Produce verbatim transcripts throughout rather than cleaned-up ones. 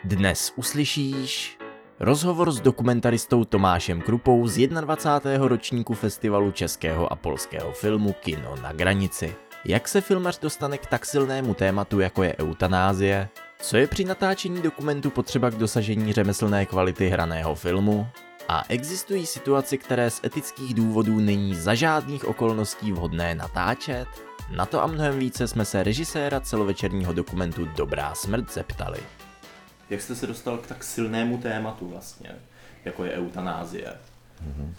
Dnes uslyšíš rozhovor s dokumentaristou Tomášem Krupou z dvacátého prvního ročníku festivalu českého a polského filmu Kino na granici. Jak se filmař dostane k tak silnému tématu, jako je eutanázie? Co je při natáčení dokumentu potřeba k dosažení řemeslné kvality hraného filmu? A existují situace, které z etických důvodů není za žádných okolností vhodné natáčet? Na to a mnohem více jsme se režiséra celovečerního dokumentu Dobrá smrt zeptali. Jak jste se dostal k tak silnému tématu vlastně, jako je eutanázie? Mm-hmm.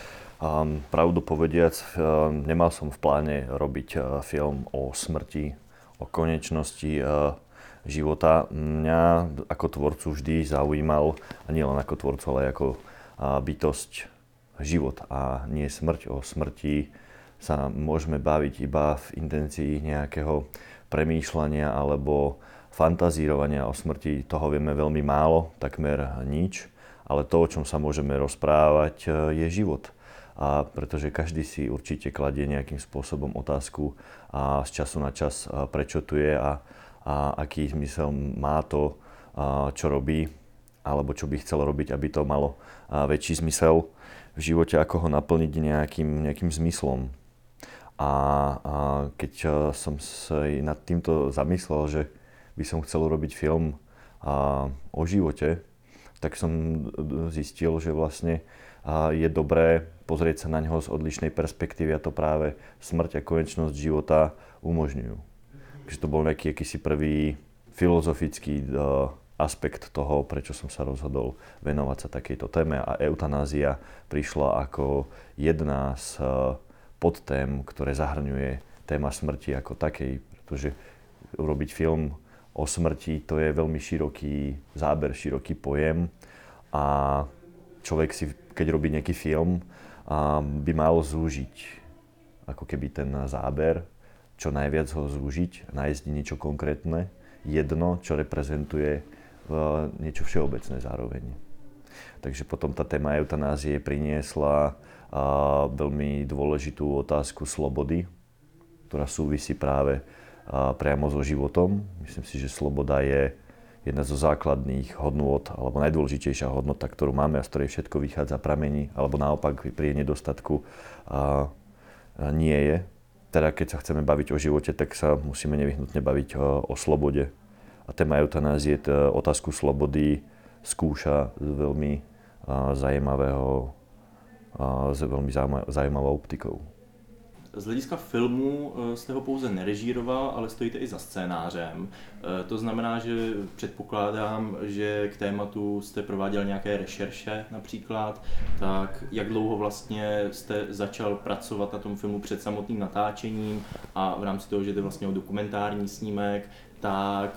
Um, pravdu povediac, uh, nemal som v pláne robiť uh, film o smrti, o konečnosti uh, života. Mňa ako tvorcu vždy zaujímal, a nie len ako tvorcu, ale ako uh, bytosť život a nie smrť. O smrti sa môžeme baviť iba v intencii nejakého premýšľania alebo fantazírovania o smrti. Toho vieme veľmi málo, takmer nič, ale to, o čom sa môžeme rozprávať, je život. A pretože každý si určite kladie nejakým spôsobom otázku a z času na čas, prečo tu je a, a aký zmysel má to, čo robí, alebo čo by chcel robiť, aby to malo väčší zmysel v živote, ako ho naplniť nejakým, nejakým zmyslom. A, a keď som sa nad týmto zamyslel, že by som chcel robiť film a, o živote, tak som zistil, že vlastne a, je dobré pozrieť sa na ňoho z odlišnej perspektívy a to práve smrť a konečnosť života umožňujú. Takže to bol nejaký akýsi prvý filozofický a, aspekt toho, prečo som sa rozhodol venovať sa takejto téme a eutanázia prišla ako jedna z a, podtém, ktoré zahrňuje téma smrti ako takej, pretože urobiť film o smrti, to je veľmi široký záber, široký pojem a človek si, keď robí nejaký film, by mal zúžiť ako keby ten záber, čo najviac ho zúžiť, nájsť niečo konkrétne, jedno, čo reprezentuje niečo všeobecné zároveň. Takže potom tá téma eutanázie priniesla veľmi dôležitú otázku slobody, ktorá súvisí práve priamo so životom. Myslím si, že sloboda je jedna zo základných hodnôt, alebo najdôležitejšia hodnota, ktorú máme a z ktorej všetko vychádza, pramení, alebo naopak pri nedostatku a, a nie je. Teda keď sa chceme baviť o živote, tak sa musíme nevyhnutne baviť o, o slobode. A téma eutanázie otázku slobody skúša z veľmi a, zaujímavého, a, s veľmi zaujímavou optikou. Z hlediska filmu jste ho pouze nerežíroval, ale stojíte i za scénářem. To znamená, že předpokládám, že k tématu jste prováděl nějaké rešerše například. Tak jak dlouho vlastně jste začal pracovat na tom filmu před samotným natáčením a v rámci toho, že jde vlastně o dokumentární snímek, tak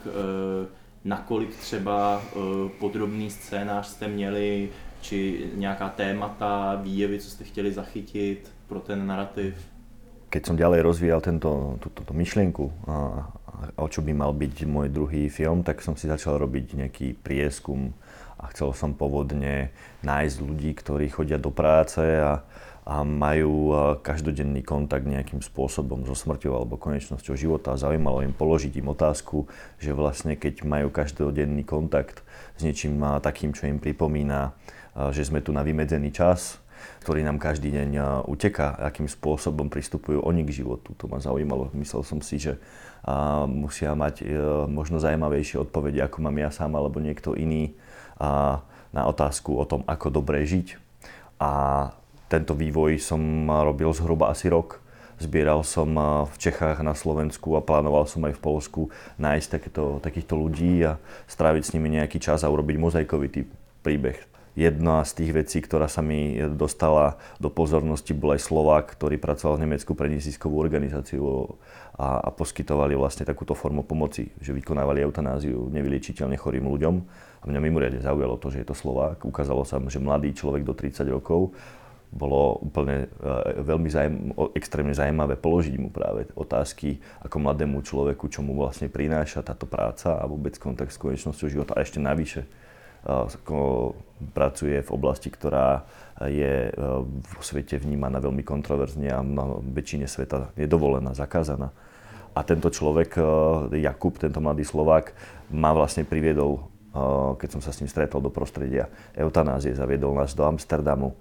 nakolik třeba podrobný scénář jste měli, či nějaká témata, výjevy, co jste chtěli zachytit pro ten narrativ? Keď som ďalej rozvíjal tento, túto, túto myšlienku, a, a o čo by mal byť môj druhý film, tak som si začal robiť nejaký prieskum a chcel som povodne nájsť ľudí, ktorí chodia do práce a, a majú každodenný kontakt nejakým spôsobom so smrťou alebo konečnosťou života. Zaujímalo im položiť im otázku, že vlastne keď majú každodenný kontakt s niečím takým, čo im pripomína, že sme tu na vymedzený čas, ktorý nám každý deň uteká, akým spôsobom pristupujú oni k životu. To ma zaujímalo. Myslel som si, že a, musia mať e, možno zaujímavejšie odpovede, ako mám ja sám alebo niekto iný a, na otázku o tom, ako dobre žiť. A tento vývoj som robil zhruba asi rok. Zbieral som v Čechách, na Slovensku a plánoval som aj v Poľsku nájsť takéto, takýchto ľudí a stráviť s nimi nejaký čas a urobiť mozaikový príbeh. Jedna z tých vecí, ktorá sa mi dostala do pozornosti, bol aj Slovák, ktorý pracoval v Nemecku pre neziskovú organizáciu a, a poskytovali vlastne takúto formu pomoci, že vykonávali eutanáziu nevyliečiteľne chorým ľuďom. A mňa mimoriadne zaujalo to, že je to Slovák. Ukázalo sa, že mladý človek do tridsať rokov, bolo úplne e, veľmi zajem, extrémne zaujímavé položiť mu práve otázky ako mladému človeku, čo mu vlastne prináša táto práca a vôbec kontakt s konečnosťou života a ešte navyše. Pracuje v oblasti, ktorá je vo svete vnímaná veľmi kontroverzne a na väčšine sveta je dovolená, zakázaná. A tento človek, Jakub, tento mladý Slovák, ma vlastne priviedol keď som sa s ním stretol do prostredia eutanázie, zaviedol nás do Amsterdamu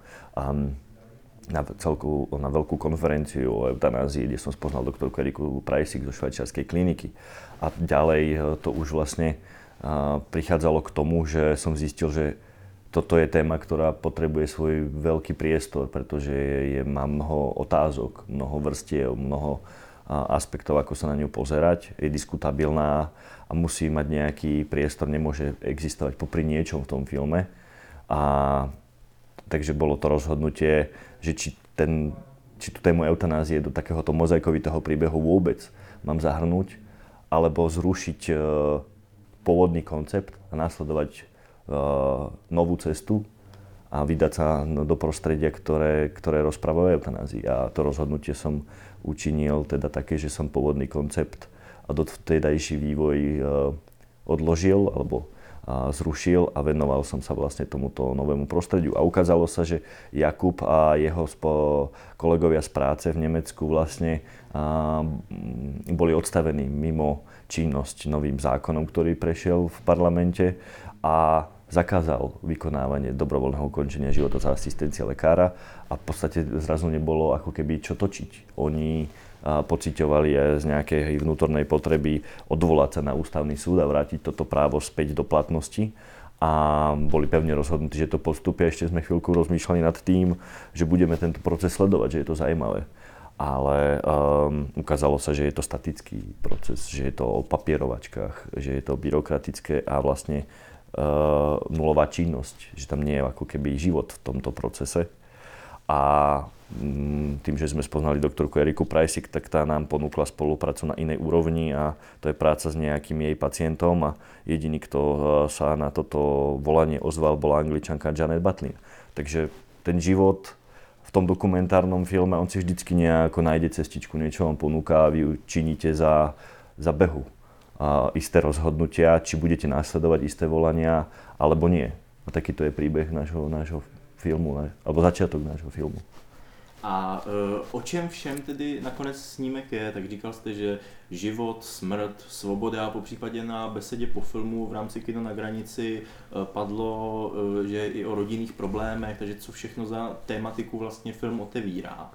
na, celku, na veľkú konferenciu o eutanázii, kde som spoznal doktorku Eriku Preissig zo švajčiarskej kliniky. A ďalej to už vlastne prichádzalo k tomu, že som zistil, že toto je téma, ktorá potrebuje svoj veľký priestor, pretože je, je, má mnoho otázok, mnoho vrstiev, mnoho aspektov, ako sa na ňu pozerať. Je diskutabilná a musí mať nejaký priestor, nemôže existovať popri niečom v tom filme. A takže bolo to rozhodnutie, že či, ten, či tú tému eutanázie do takéhoto mozaikovitého príbehu vôbec mám zahrnúť, alebo zrušiť e, pôvodný koncept a následovať e, novú cestu a vydať sa do prostredia, ktoré, ktoré rozpráva o eutanázii. A to rozhodnutie som učinil teda také, že som pôvodný koncept a dovtedajší vývoj e, odložil alebo a zrušil a venoval som sa vlastne tomuto novému prostrediu. A ukázalo sa, že Jakub a jeho spo- kolegovia z práce v Nemecku vlastne a, boli odstavení mimo činnosť novým zákonom, ktorý prešiel v parlamente a zakázal vykonávanie dobrovoľného ukončenia života za asistencie lekára a v podstate zrazu nebolo ako keby čo točiť. Oni pociťovali aj z nejakej vnútornej potreby odvolať sa na ústavný súd a vrátiť toto právo späť do platnosti a boli pevne rozhodnutí, že to postupia. Ešte sme chvíľku rozmýšľali nad tým, že budeme tento proces sledovať, že je to zaujímavé. Ale um, ukázalo sa, že je to statický proces, že je to o papierovačkách, že je to byrokratické a vlastne uh, nulová činnosť, že tam nie je ako keby život v tomto procese. A tým, že sme spoznali doktorku Eriku Preissig, tak tá nám ponúkla spoluprácu na inej úrovni a to je práca s nejakým jej pacientom a jediný, kto sa na toto volanie ozval, bola Angličanka Janet Butlin. Takže ten život v tom dokumentárnom filme, on si vždycky nejako nájde cestičku, niečo vám ponúka a vy ju činíte za, za behu. A isté rozhodnutia, či budete následovať isté volania, alebo nie. A takýto je príbeh nášho, nášho filmu, alebo začiatok nášho filmu. A e, o čem všem tedy nakonec snímek je? Tak říkal jste, že život, smrt, svoboda, po případě na besedě po filmu v rámci Kino na hranici e, padlo, e, že i o rodinných problémech, takže co všechno za tématiku vlastně film otevírá?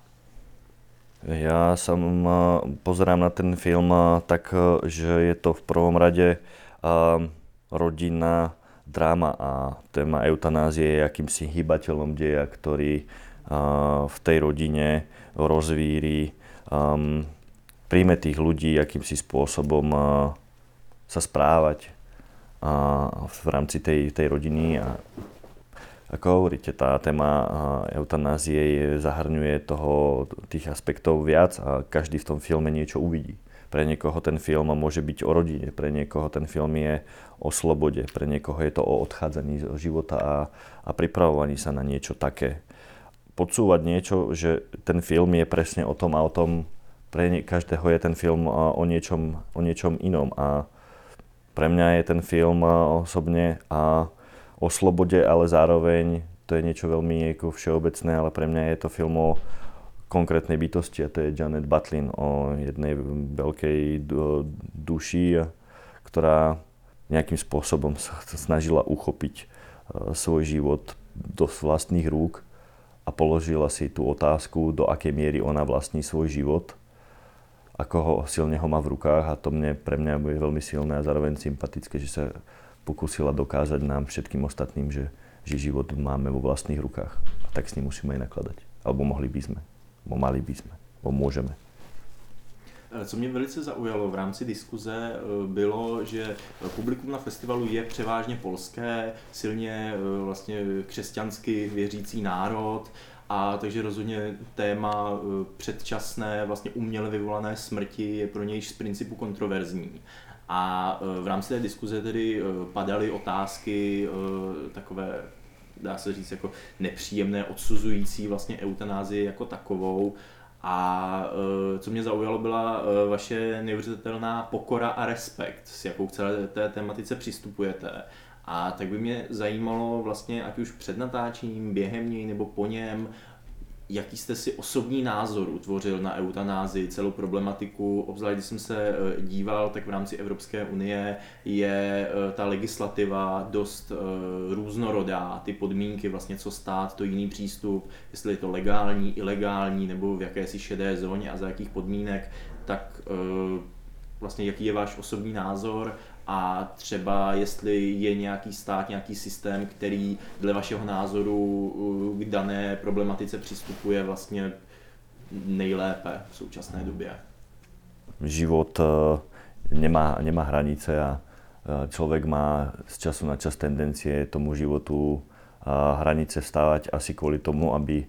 Ja sa pozerám na ten film tak, že je to v prvom rade rodinná dráma a téma eutanázie je akýmsi hýbateľom deja, ktorý v tej rodine rozvíri, um, príjme tých ľudí akýmsi spôsobom uh, sa správať uh, v rámci tej, tej rodiny. A ako hovoríte, tá téma uh, eutanázie je, zahrňuje toho, tých aspektov viac a každý v tom filme niečo uvidí. Pre niekoho ten film môže byť o rodine, pre niekoho ten film je o slobode, pre niekoho je to o odchádzaní z života a, a pripravovaní sa na niečo také. Podsúvať niečo, že ten film je presne o tom a o tom, pre každého je ten film o niečom, o niečom inom a pre mňa je ten film osobne a o slobode, ale zároveň to je niečo veľmi ako všeobecné, ale pre mňa je to film o konkrétnej bytosti a to je Janet Butlin, o jednej veľkej duši, ktorá nejakým spôsobom sa snažila uchopiť svoj život do vlastných rúk a položila si tú otázku, do akej miery ona vlastní svoj život, ako ho silne ho má v rukách a to mne, pre mňa bude veľmi silné a zároveň sympatické, že sa pokúsila dokázať nám všetkým ostatným, že, že život máme vo vlastných rukách a tak s ním musíme aj nakladať. Alebo mohli by sme, alebo mali by sme, alebo môžeme. Co mě velice zaujalo v rámci diskuze, bylo, že publikum na festivalu je převážně polské, silně vlastně křesťansky věřící národ, a takže rozhodně téma předčasné, vlastně uměle vyvolané smrti je pro něj z principu kontroverzní. A v rámci té diskuze tedy padaly otázky takové, dá se říct, jako nepříjemné, odsuzující vlastně eutanázii jako takovou. A e, co mě zaujalo, byla e, vaše neuvěřitelná pokora a respekt, s jakou k celé té tematice přistupujete. A tak by mě zajímalo vlastně, ať už před natáčením, během něj nebo po něm, jaký jste si osobní názor utvořil na eutanázii, celou problematiku, obzvlášť když jsem se díval, tak v rámci Evropské unie je ta legislativa dost různorodá, ty podmínky, vlastně co stát, to jiný přístup, jestli je to legální, ilegální nebo v jakési šedé zóně a za jakých podmínek, tak vlastně jaký je váš osobní názor a třeba jestli je nějaký stát, nějaký systém, který dle vašeho názoru k dané problematice přistupuje vlastně nejlépe v současné době. Život nemá, nemá hranice a človek má z času na čas tendencie tomu životu hranice vstávať asi kvôli tomu, aby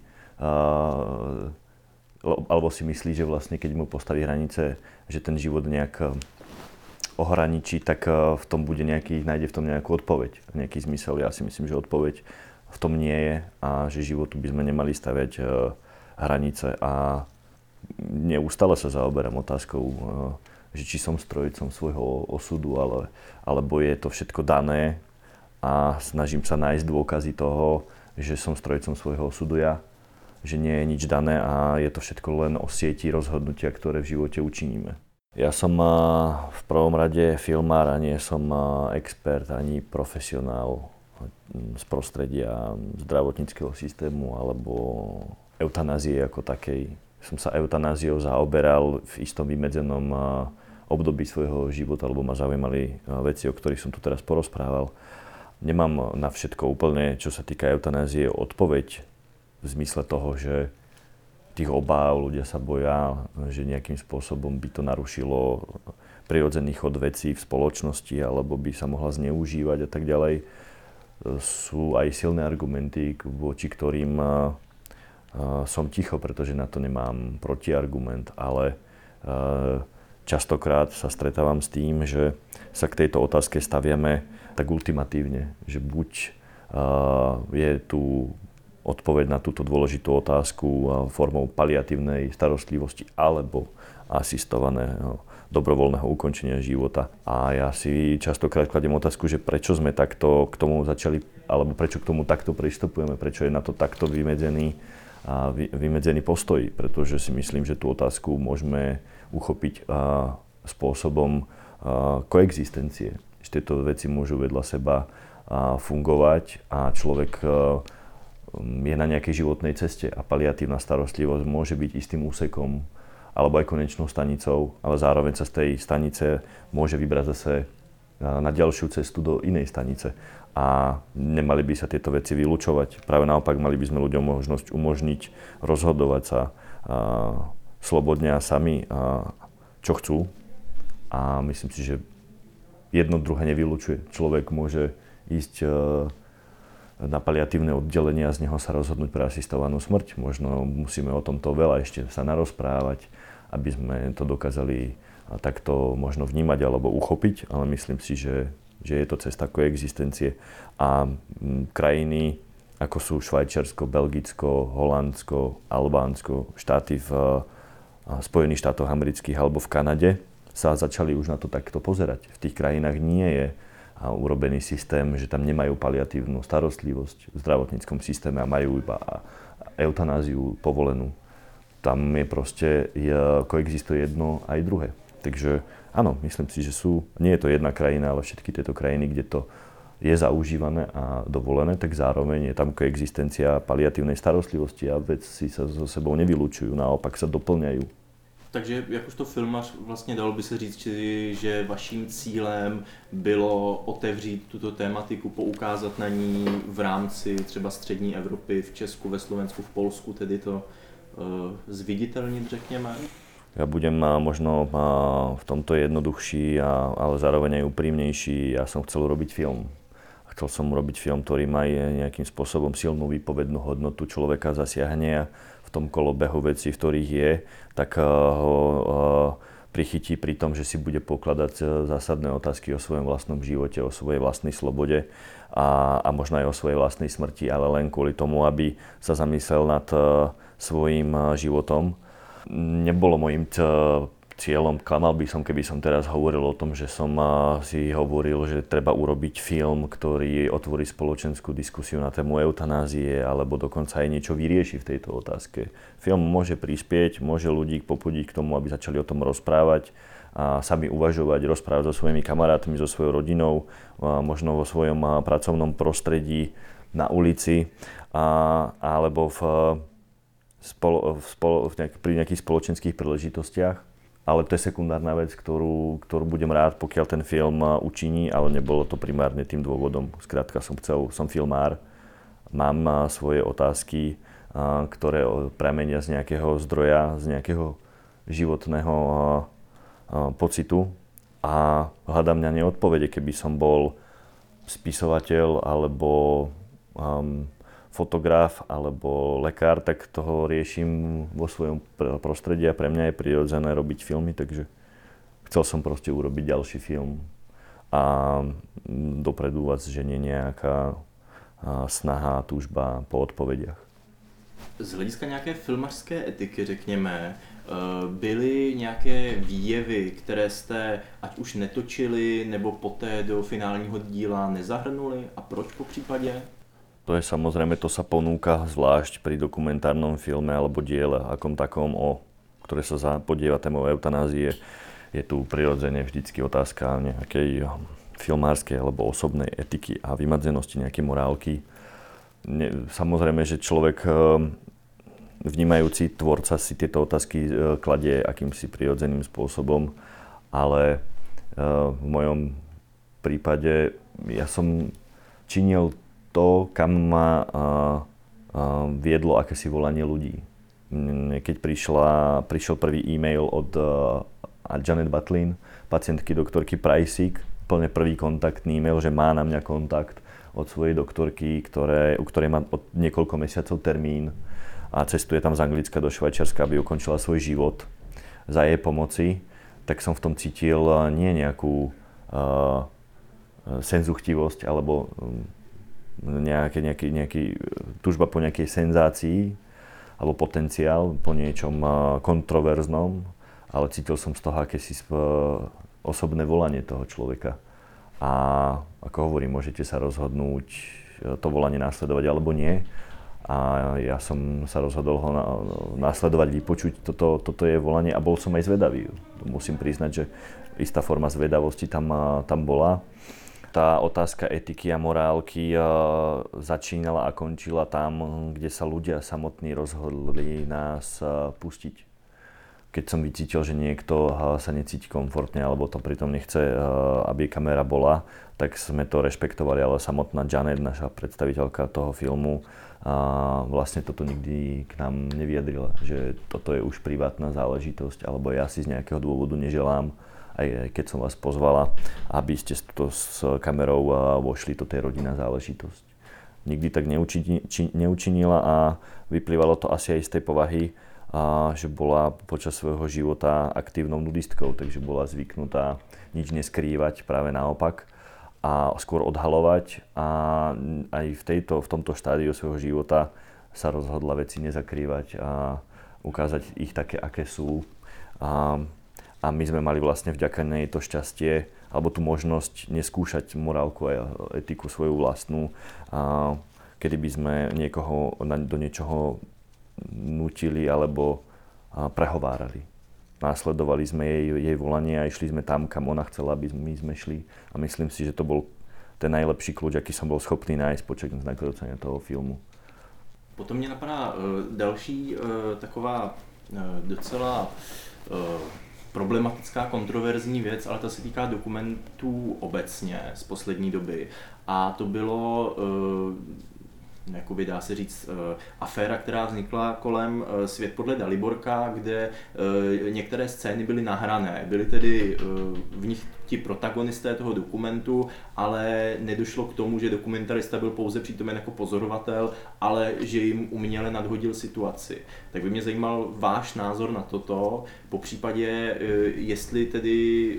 alebo si myslí, že vlastne keď mu postaví hranice, že ten život nejak ohraničí, tak v tom bude nejaký, nájde v tom nejakú odpoveď, nejaký zmysel. Ja si myslím, že odpoveď v tom nie je a že životu by sme nemali staviať hranice a neustále sa zaoberám otázkou, že či som strojcom svojho osudu, ale, alebo je to všetko dané a snažím sa nájsť dôkazy toho, že som strojcom svojho osudu ja, že nie je nič dané a je to všetko len o sieti rozhodnutia, ktoré v živote učiníme. Ja som v prvom rade filmár a nie som expert ani profesionál z prostredia zdravotníckeho systému alebo eutanázie ako takej. Som sa eutanáziou zaoberal v istom vymedzenom období svojho života, lebo ma zaujímali veci, o ktorých som tu teraz porozprával. Nemám na všetko úplne, čo sa týka eutanázie, odpoveď v zmysle toho, že tých obáv, ľudia sa boja, že nejakým spôsobom by to narušilo prirodzený chod vecí v spoločnosti alebo by sa mohla zneužívať a tak ďalej. Sú aj silné argumenty, voči ktorým som ticho, pretože na to nemám protiargument, ale častokrát sa stretávam s tým, že sa k tejto otázke staviame tak ultimatívne, že buď je tu odpoveď na túto dôležitú otázku formou paliatívnej starostlivosti alebo asistovaného dobrovoľného ukončenia života. A ja si častokrát kladiem otázku, že prečo sme takto k tomu začali, alebo prečo k tomu takto pristupujeme, prečo je na to takto vymedzený, a vymedzený postoj, pretože si myslím, že tú otázku môžeme uchopiť spôsobom koexistencie. Že tieto veci môžu vedľa seba fungovať a človek je na nejakej životnej ceste a paliatívna starostlivosť môže byť istým úsekom alebo aj konečnou stanicou, ale zároveň sa z tej stanice môže vybrať zase na ďalšiu cestu do inej stanice. A nemali by sa tieto veci vylúčovať. Práve naopak, mali by sme ľuďom možnosť umožniť rozhodovať sa a, slobodne a sami, a, čo chcú. A myslím si, že jedno druhé nevylučuje. Človek môže ísť a, na paliatívne oddelenie a z neho sa rozhodnúť pre asistovanú smrť. Možno musíme o tomto veľa ešte sa narozprávať, aby sme to dokázali takto možno vnímať alebo uchopiť, ale myslím si, že, že je to cesta koexistencie. A krajiny ako sú Švajčiarsko, Belgicko, Holandsko, Albánsko, štáty v Spojených štátoch amerických alebo v Kanade sa začali už na to takto pozerať. V tých krajinách nie je a urobený systém, že tam nemajú paliatívnu starostlivosť v zdravotníckom systéme a majú iba eutanáziu povolenú. Tam je proste, je, koexistuje jedno aj druhé. Takže áno, myslím si, že sú, nie je to jedna krajina, ale všetky tieto krajiny, kde to je zaužívané a dovolené, tak zároveň je tam koexistencia paliatívnej starostlivosti a veci sa so sebou nevylučujú, naopak sa doplňajú. Takže jakožto filmař vlastně dalo by se říct, že vaším cílem bylo otevřít tuto tématiku, poukázat na ní v rámci třeba střední Evropy, v Česku, ve Slovensku, v Polsku, tedy to uh, zviditeľniť, řekněme? Ja budem možno v tomto jednoduchší, ale zároveň aj úprimnejší. Ja som chcel robiť film. Chcel som urobiť film, ktorý má nejakým spôsobom silnú výpovednú hodnotu, človeka zasiahne v tom kolobehu vecí, v ktorých je, tak ho prichytí pri tom, že si bude pokladať zásadné otázky o svojom vlastnom živote, o svojej vlastnej slobode a, a možno aj o svojej vlastnej smrti, ale len kvôli tomu, aby sa zamyslel nad svojím životom. Nebolo mojím cieľom. Klamal by som, keby som teraz hovoril o tom, že som si hovoril, že treba urobiť film, ktorý otvorí spoločenskú diskusiu na tému eutanázie, alebo dokonca aj niečo vyrieši v tejto otázke. Film môže prispieť, môže ľudí popudiť k tomu, aby začali o tom rozprávať a sami uvažovať, rozprávať so svojimi kamarátmi, so svojou rodinou, možno vo svojom pracovnom prostredí, na ulici, a, alebo v, spolo, v spolo, v nejak, pri nejakých spoločenských príležitostiach. Ale to je sekundárna vec, ktorú, ktorú budem rád, pokiaľ ten film učiní, ale nebolo to primárne tým dôvodom. Skrátka som chcel, som filmár, mám svoje otázky, ktoré pramenia z nejakého zdroja, z nejakého životného pocitu a hľadám na ne odpovede. Keby som bol spisovateľ alebo um, fotograf alebo lekár, tak toho riešim vo svojom prostredí a pre mňa je prirodzené robiť filmy, takže chcel som proste urobiť ďalší film a dopredu vás ženie nejaká snaha, túžba po odpovediach. Z hlediska nějaké filmařské etiky, řekněme, byly nějaké výjevy, které jste ať už netočili, nebo poté do finálního díla nezahrnuli a proč po případě? To je samozrejme, to sa ponúka zvlášť pri dokumentárnom filme alebo diele akom takom, o ktoré sa podieva témou eutanázie. Je tu prirodzene vždycky otázka nejakej filmárskej alebo osobnej etiky a vymedzenosti nejakej morálky. Samozrejme, že človek vnímajúci tvorca si tieto otázky kladie akýmsi prirodzeným spôsobom, ale v mojom prípade ja som činil to, kam ma uh, uh, viedlo akési volanie ľudí. Keď prišla, prišiel prvý e-mail od uh, Janet Butlin, pacientky doktorky Pricek, plne prvý kontaktný e-mail, že má na mňa kontakt od svojej doktorky, ktoré, u ktorej má od niekoľko mesiacov termín a cestuje tam z Anglicka do Švajčiarska, aby ukončila svoj život za jej pomoci, tak som v tom cítil nie nejakú uh, senzuchtivosť alebo um, Nejaký, nejaký, nejaký túžba po nejakej senzácii alebo potenciál po niečom kontroverznom, ale cítil som z toho akési osobné volanie toho človeka. A ako hovorím, môžete sa rozhodnúť to volanie následovať alebo nie. A ja som sa rozhodol ho následovať, vypočuť, toto, toto je volanie a bol som aj zvedavý. Musím priznať, že istá forma zvedavosti tam, tam bola. Tá otázka etiky a morálky uh, začínala a končila tam, kde sa ľudia samotní rozhodli nás uh, pustiť. Keď som vycítil, že niekto uh, sa necíti komfortne alebo to pritom nechce, uh, aby kamera bola, tak sme to rešpektovali, ale samotná Janet, naša predstaviteľka toho filmu, uh, vlastne toto nikdy k nám nevyjadrila, že toto je už privátna záležitosť alebo ja si z nejakého dôvodu neželám, aj keď som vás pozvala, aby ste to s kamerou vošli, toto je rodinná záležitosť. Nikdy tak neučini, či, neučinila a vyplývalo to asi aj z tej povahy, a, že bola počas svojho života aktívnou nudistkou, takže bola zvyknutá nič neskrývať, práve naopak, a skôr odhalovať a aj v, tejto, v tomto štádiu svojho života sa rozhodla veci nezakrývať a ukázať ich také, aké sú. A, A my sme mali vlastne vďaka nej to šťastie, alebo tú možnosť neskúšať morálku a etiku svoju vlastnú, a kedy by sme niekoho do niečoho nutili alebo prehovárali. Následovali sme jej, jej volanie a išli sme tam, kam ona chcela, aby my sme šli. A myslím si, že to bol ten najlepší kľúč, aký som bol schopný nájsť počas nakrúcania toho filmu. Potom mě napadá uh, další uh, taková uh, docela uh, problematická, kontroverzní věc, ale ta se týká dokumentů obecně z poslední doby. A to bylo, jakoby dá se říct, aféra, která vznikla kolem Svět podle Daliborka, kde některé scény byly nahrané. Byly tedy v nich ti protagonisté toho dokumentu, ale nedošlo k tomu, že dokumentarista byl pouze přítomen jako pozorovatel, ale že jim uměle nadhodil situaci. Tak by mě zajímal váš názor na toto, popřípadě jestli tedy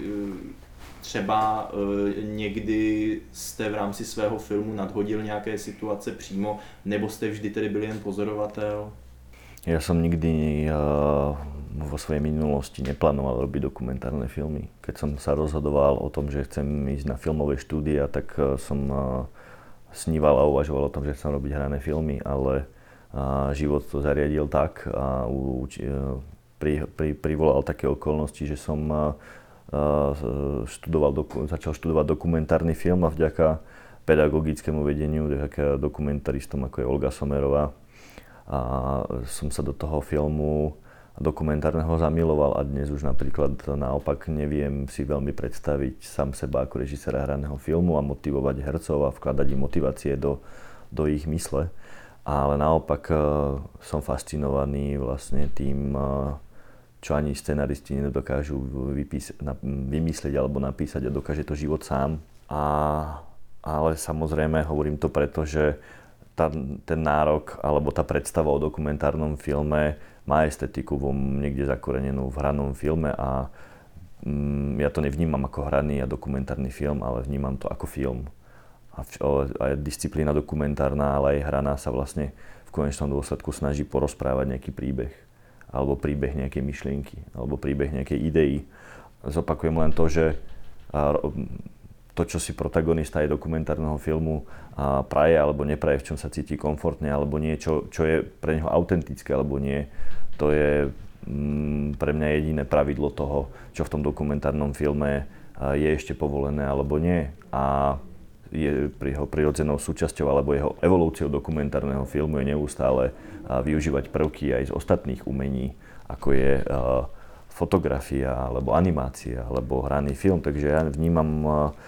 třeba někdy jste v rámci svého filmu nadhodil nějaké situace přímo, nebo jste vždy tedy byl jen pozorovatel? Ja som nikdy uh, vo svojej minulosti neplánoval robiť dokumentárne filmy. Keď som sa rozhodoval o tom, že chcem ísť na filmové štúdia, tak uh, som uh, sníval a uvažoval o tom, že chcem robiť hrané filmy, ale uh, život to zariadil tak a uh, pri, pri, privolal také okolnosti, že som uh, študoval, doku, začal študovať dokumentárny film a vďaka pedagogickému vedeniu, vďaka dokumentaristom ako je Olga Somerová, a som sa do toho filmu dokumentárneho zamiloval a dnes už napríklad naopak neviem si veľmi predstaviť sám seba ako režiséra hraného filmu a motivovať hercov a vkladať im motivácie do, do ich mysle. Ale naopak som fascinovaný vlastne tým, čo ani scenaristi nedokážu vypís- na, vymyslieť alebo napísať a dokáže to život sám. A, ale samozrejme hovorím to preto, že tá, ten nárok alebo tá predstava o dokumentárnom filme má estetiku vo niekde zakorenenú v hranom filme a mm, ja to nevnímam ako hraný a dokumentárny film, ale vnímam to ako film. A, a disciplína dokumentárna, ale aj hraná sa vlastne v konečnom dôsledku snaží porozprávať nejaký príbeh alebo príbeh nejakej myšlienky alebo príbeh nejakej idei. Zopakujem len to, že to, čo si protagonista aj dokumentárneho filmu praje alebo nepraje, v čom sa cíti komfortne, alebo niečo, čo je pre neho autentické alebo nie, to je mm, pre mňa jediné pravidlo toho, čo v tom dokumentárnom filme je ešte povolené alebo nie. A je jeho prirodzenou súčasťou alebo jeho evolúciou dokumentárneho filmu je neustále využívať prvky aj z ostatných umení, ako je fotografia, alebo animácia, alebo hraný film. Takže ja vnímam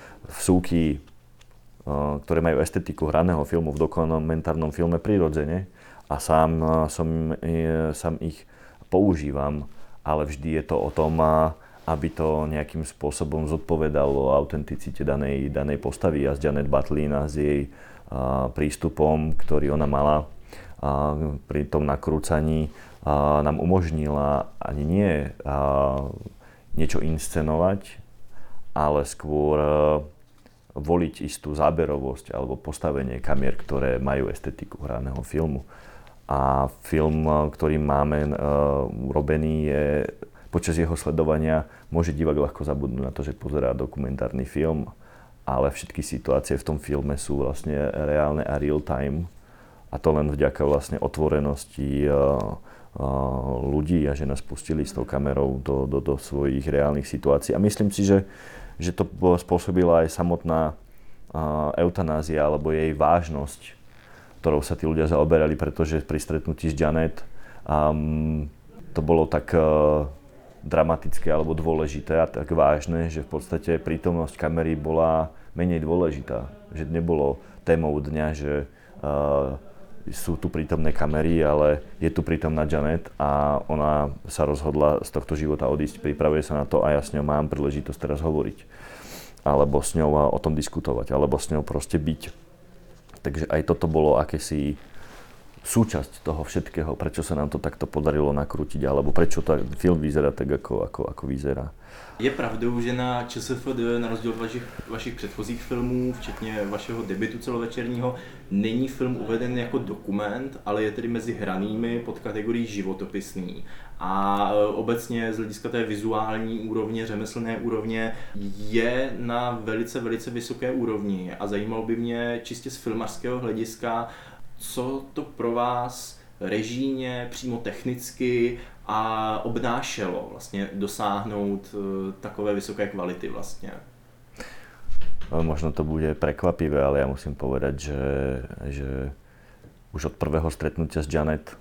vsúky, ktoré majú estetiku hraného filmu v dokumentárnom filme prirodzene a sám, som, sám ich používam, ale vždy je to o tom, aby to nejakým spôsobom zodpovedalo autenticite danej, danej postavy a z Janet Butlin a s jej a, prístupom, ktorý ona mala a, pri tom nakrúcaní, a, nám umožnila ani nie a, niečo inscenovať, ale skôr a, voliť istú záberovosť alebo postavenie kamier, ktoré majú estetiku hraného filmu. A film, ktorý máme a, urobený, je počas jeho sledovania môže divák ľahko zabudnúť na to, že pozerá dokumentárny film, ale všetky situácie v tom filme sú vlastne reálne a real time. A to len vďaka vlastne otvorenosti uh, uh, ľudí a že nás pustili s tou kamerou do, do, do svojich reálnych situácií. A myslím si, že, že to spôsobila aj samotná uh, eutanázia alebo jej vážnosť, ktorou sa tí ľudia zaoberali, pretože pri stretnutí s Janet um, to bolo tak uh, dramatické alebo dôležité a tak vážne, že v podstate prítomnosť kamery bola menej dôležitá. Že nebolo témou dňa, že uh, sú tu prítomné kamery, ale je tu prítomná Janet a ona sa rozhodla z tohto života odísť, pripravuje sa na to a ja s ňou mám príležitosť teraz hovoriť. Alebo s ňou o tom diskutovať, alebo s ňou proste byť. Takže aj toto bolo akési súčasť toho všetkého, prečo sa nám to takto podarilo nakrútiť, alebo prečo ten film vyzerá tak, ako, ako, ako vyzerá. Je pravdou, že na ČSFD, na rozdíl od vašich, vašich předchozích filmů, včetně vašeho debutu celovečerního, není film uveden jako dokument, ale je tedy mezi hranými pod kategorií životopisný. A obecně z hlediska té vizuální úrovně, řemeslné úrovně je na velice, velice vysoké úrovni. A zajímalo by mě čistě z filmařského hlediska, co to pro vás režijně, přímo technicky a obnášelo vlastně dosáhnout takové vysoké kvality vlastně? Možno to bude prekvapivé, ale ja musím povedať, že, že už od prvého stretnutia s Janet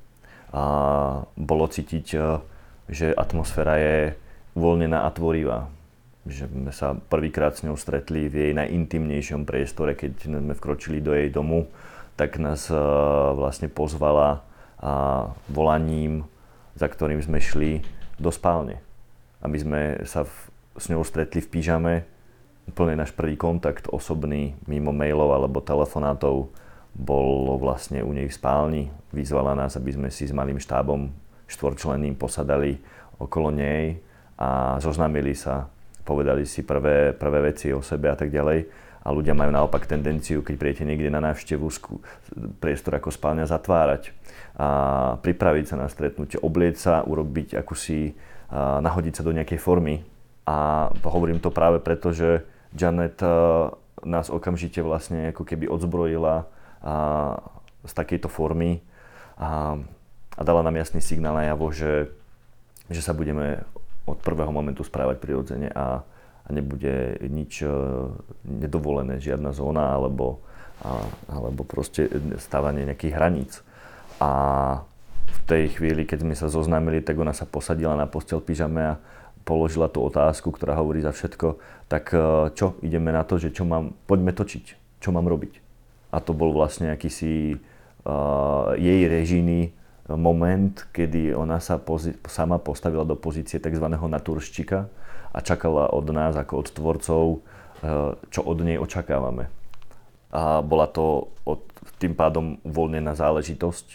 a bolo cítiť, že atmosféra je uvoľnená a tvorivá. Že sme sa prvýkrát s ňou stretli v jej najintimnejšom priestore, keď sme vkročili do jej domu, tak nás vlastne pozvala volaním, za ktorým sme šli do spálne. Aby sme sa v, s ňou stretli v pyžame. Úplne náš prvý kontakt osobný, mimo mailov alebo telefonátov, bol vlastne u nej v spálni. Vyzvala nás, aby sme si s malým štábom štvorčlenným posadali okolo nej a zoznámili sa, povedali si prvé, prvé veci o sebe a tak ďalej. A A ľudia majú naopak tendenciu, keď príjete niekde na návštevu, priestor ako spálňa zatvárať. A pripraviť sa na stretnutie, oblieť sa, urobiť akúsi, a nahodiť sa do nejakej formy. A hovorím to práve preto, že Janet nás okamžite vlastne ako keby odzbrojila a, z takejto formy a, a dala nám jasný signál najavo, že, že sa budeme od prvého momentu správať prirodzene a, a nebude nič uh, nedovolené, žiadna zóna alebo, a, alebo proste stávanie nejakých hraníc. A v tej chvíli, keď sme sa zoznámili, tak ona sa posadila na posteľ v pyžame a položila tú otázku, ktorá hovorí za všetko, tak uh, čo, ideme na to, že čo mám, poďme točiť, čo mám robiť. A to bol vlastne akýsi uh, jej režijný moment, kedy ona sa pozi- sama postavila do pozície tzv. Naturščika a čakala od nás ako od tvorcov, čo od nej očakávame. A bola to od, tým pádom uvoľnená záležitosť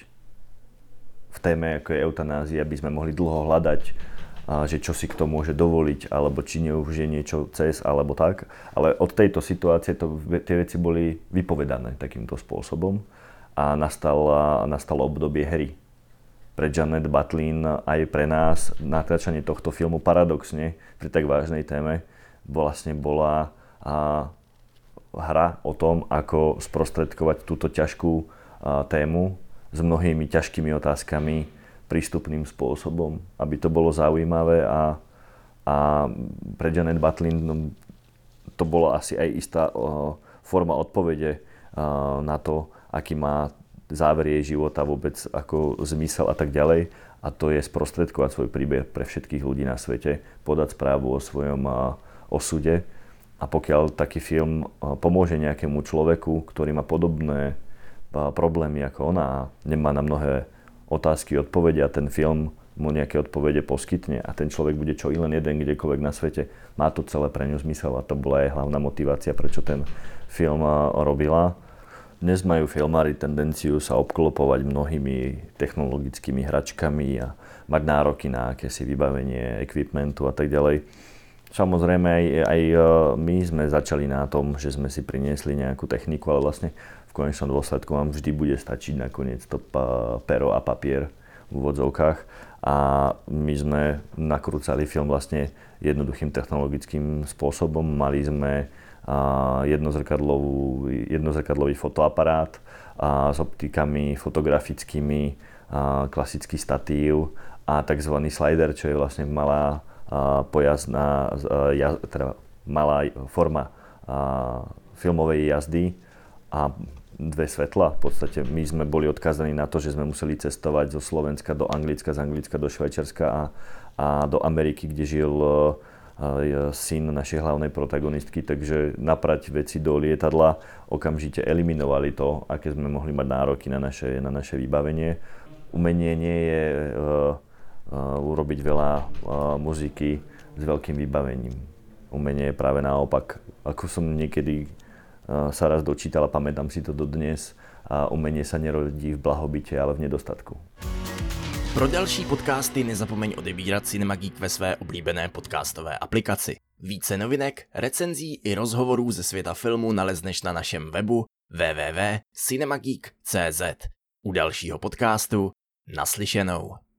v téme, ako je eutanázia, aby sme mohli dlho hľadať, že čo si kto môže dovoliť, alebo či už je niečo cez, alebo tak. Ale od tejto situácie to, tie veci boli vypovedané takýmto spôsobom a nastalo, nastalo obdobie hry. Pre Janet Butlin aj pre nás natáčanie tohto filmu paradoxne pri tak vážnej téme vlastne bola a, hra o tom, ako sprostredkovať túto ťažkú a, tému s mnohými ťažkými otázkami prístupným spôsobom, aby to bolo zaujímavé a, a pre Janet Butlin no, to bola asi aj istá o, forma odpovede o, na to, aký má záver jej života, vôbec ako zmysel a tak ďalej. A to je sprostredkovať svoj príbeh pre všetkých ľudí na svete, podať správu o svojom osude. A pokiaľ taký film pomôže nejakému človeku, ktorý má podobné problémy ako ona a nemá na mnohé otázky, odpovede a ten film mu nejaké odpovede poskytne a ten človek bude čo i len jeden kdekoľvek na svete, má to celé pre ňu zmysel a to bola aj hlavná motivácia, prečo ten film robila. Dnes majú filmári tendenciu sa obklopovať mnohými technologickými hračkami a mať nároky na akési vybavenie equipmentu a tak ďalej. Samozrejme aj, aj my sme začali na tom, že sme si priniesli nejakú techniku, ale vlastne v konečnom dôsledku vám vždy bude stačiť nakoniec to pero a papier v úvodzovkách. A my sme nakrúcali film vlastne jednoduchým technologickým spôsobom. Mali sme jednozrkadlový fotoaparát a s optikami fotografickými, a klasický statív a tzv. Slider, čo je vlastne malá pojazdná, teda malá forma filmovej jazdy a dve svetla. V podstate my sme boli odkázaní na to, že sme museli cestovať zo Slovenska do Anglicka, z Anglicka do Švajčiarska a, a do Ameriky, kde žil syn našej hlavnej protagonistky, takže naprať veci do lietadla okamžite eliminovali to, aké sme mohli mať nároky na naše, na naše vybavenie. Umenie nie je uh, uh, urobiť veľa uh, muziky s veľkým vybavením. Umenie je práve naopak. Ako som niekedy uh, sa raz dočítal a pamätám si to dodnes, a umenie sa nerodí v blahobite, ale v nedostatku. Pro další podcasty nezapomeň odebírat Cinema Geek ve své oblíbené podcastové aplikaci. Více novinek, recenzí i rozhovorů ze světa filmu nalezneš na našem webu w w w tečka cinemageek tečka c z. U dalšího podcastu naslyšenou.